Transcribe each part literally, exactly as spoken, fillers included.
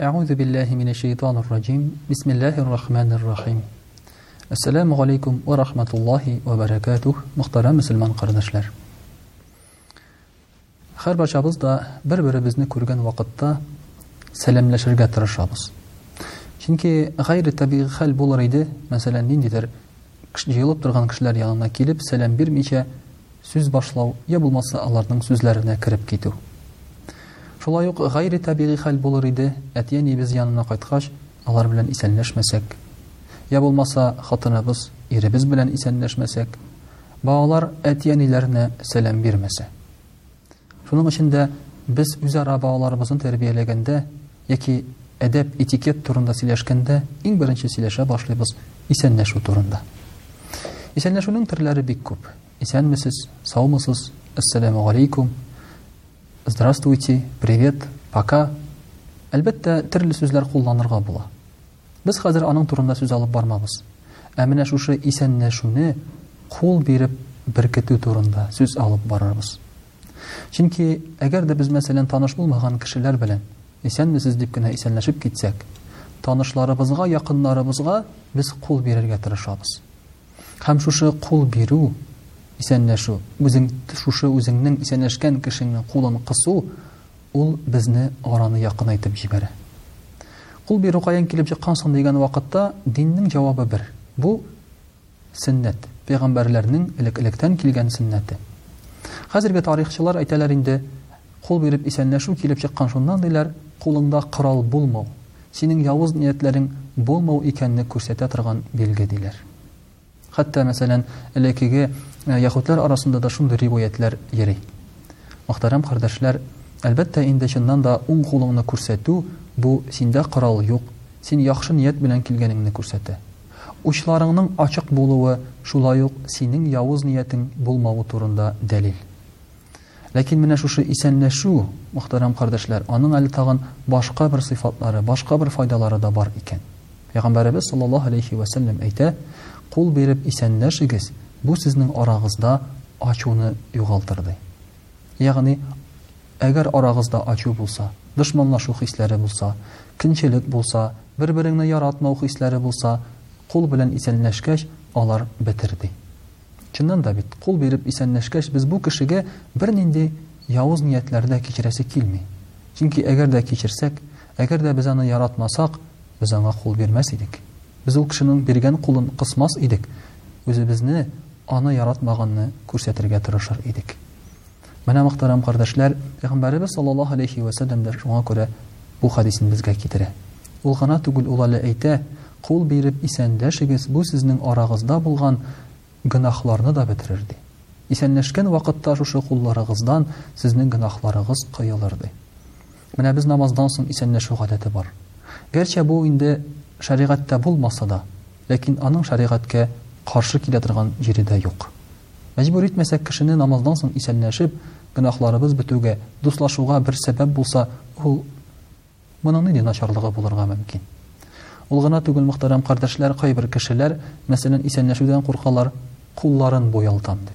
أعوذ بالله من الشيطان الرجيم بسم الله الرحمن الرحيم Assalamu alaikum wa rahmatullahi wa barakatuh. Muhtaram musulmon qardoshlar. Har barchamizda bir-birimizni ko'rgan vaqtda salomlashishga tirishamiz. Chunki g'ayri tabiiy hal bo'lar edi, masalan, nindidir jiyilib turgan kishilar yanına kelib salom bermicha so'z boshlaw ya bo'lmasa ularning so'zlarini kirib ketuv. Shulay uq g'ayri tabiiy hal bo'lar edi, atiyani biz yanına qaytgaч, ular bilan isanlashmasak ya bo'lmasa xotinimiz, erimiz bilan isanlashmasak, ba'olar atiyanilarni salom bermasa. Shuning uchun da biz o'zaro ba'olarimizni tarbiyalaganda yoki adab etiket turida silashganda eng birinchi silasha boshlaymiz isanlashuv turida. Isanlashuvning turlari bek ko'p. Isanmisiz, sog'misiz, assalomu alaykum, здравствуйте, привет, пока. Albatta turli so'zlar qo'llanirga bo'la. Biz hozir aning turida so'z olib bormamiz. Amina shu isanlashuvni qo'l berib birkituv turida so'z olib boramiz. Chunki agarda biz masalan tanish bo'lmagan kishilar bilan isanmisiz debgina isanlashib ketsak, tanishlarimizga, yaqinlarimizga biz qo'l berishga tirishamiz. Ham shu qo'l beru, isanlashuv, o'zing shu o'zingning isanlashgan kishining qo'lini qisu, ul bizni orani yaqinaytib jibaradi. Qo'l beru qayan kelib chiqqansan degan vaqtda dinning javobi bir. Bu sunnat, payg'ambarlarning ilik-ilikdan kelgan sunnati. Hozirgi tarixchilar aytalar endi qo'l berib isanlashuv kelib chiqqan shundan deylar, qo'lingda qurol bo'lmau, sening yovuz niyatlaring bo'lmau ekanini ko'rsata turgan belgi deylar. Hatto masalan, ilakigi yahudlar orasida da shunday rivoyatlar yeri. Muhtaram qardoshlar, albatta endi shundan da o'ng qo'lingni ko'rsatuv bu senda qurol yo'q, sen yaxshi niyat bilan kelganingni ko'rsatadi. Uchlaringning ochiq bo'luvi shulay yo'q, sening yovuz niyating bo'lmavi turida dalil. Lekin mana shu isanlashuv, muhtaram qardoshlar, aning ali tag'in boshqa bir sifatlari, boshqa bir foydalari da bor ekan. Payg'ambarimiz sollallohu alayhi va sallam ayta, qo'l berib isanlashingiz bu sizning orangizda ochuvni yo'g'altirdi. Ya'ni agar orangizda ochuv bo'lsa, dushmanlashuv hislari bo'lsa, qiyinchilik bo'lsa, bir-biringni yaratmau hislari bo'lsa, qo'l bilan isanlashgach, ular bitirdi. Chindan da bit, qo'l berib isanlashgach biz bu kishiga bir nindi yovuz niyatlarda kechirasi kelmay. Chunki agarda kechirsak, agarda biz uni yaratmasak, biz unga qo'l bermas edik. Biz u kishining bergan qo'lini qismas edik. O'zi bizni ona yaratmaganni ko'rsatirga tirishar edik. Mana muhtaram qardoshlar, payg'ambarimiz sollallohu alayhi va sallamdan shunga ko'ra bu hadisni bizga keltiradi. Ul g'ana tugul ular ayta, qo'l berib isanlashingiz bu sizning orangizda bo'lgan gunohlarni da bitirdi. Isanlashgan vaqtda shu qo'llaringizdan sizning gunohlaringiz qo'yiladi. Mana biz namozdan so'ng isanlashuv odati bor. Garchi bu endi shariatda bo'lmasa-da, lekin aning shariatga qarshi keladigan yerida yo'q. Majbur etmasak kishini namozdan so'ng isanlashib, gunohlarimiz bituga, do'stlashuvga bir sabab bo'lsa, u buning nima nacharligi bo'larga mumkin. Ulg'ana tugul muhtaram qardoshlar, qay bir kishilar masalan isanlashuvdan qo'rqanlar, qo'llarini bo'yaltam deb,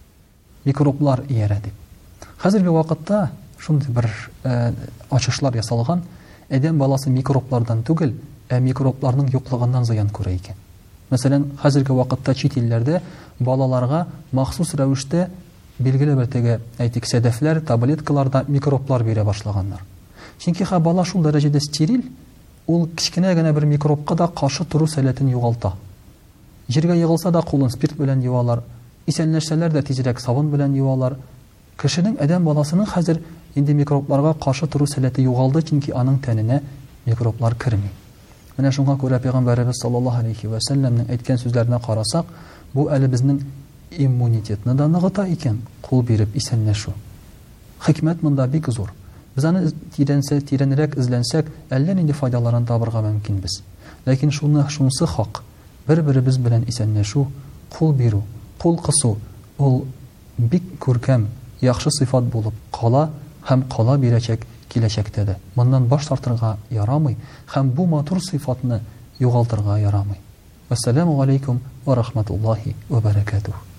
mikroblar yera deb. Hozirgi vaqtda shunday bir ochishlar yasalgan, odam balasi mikroblardan tugul, mikroblarning yo'qligidan ziyon ko'rar ekan. Masalan, hozirgi vaqtda chet ellarda bolalarga maxsus ravishda belgili bir tega aytik sadaflar, tabletkalarda mikroblar bera boshlaganlar. Chunki ha bola shu darajada steril, ul kichkinagina bir mikrobga da qarshi turu salatini yo'g'alta. Yerga yig'ilsa da qo'lin spirt bilan yuvalar, isanlashsalar da tezroq sabun bilan yuvalar. Kishining adam bolasining hozir endi mikroblarga qarshi turu salati yo'g'aldi, chunki aning tanina mikroblar kirmaydi. Mana shunga ko'ra payg'ambarimiz sollallohu alayhi va sallamning aytgan so'zlarini qarasak, bu ali bizning immunitetni da nig'ita ekan, qo'l berib isanlashuv. Hikmat bunda bek zo'r. Biz ani tiransak, tiranroq izlansak, allan endi foydalarini topirga mumkin biz. Lekin shuni shunisi haq. Bir-birimiz bilan isanlashuv, qo'l beru, qo'l qisu, ul bek ko'rkam, yaxshi sifat bo'lib qola, ham qola beracak kelajakda. Bundan bosh tortirga yaramay, ham bu motor sifatni yo'g'altirga yaramay. Assalomu alaykum va rahmatullohi va barakatuh.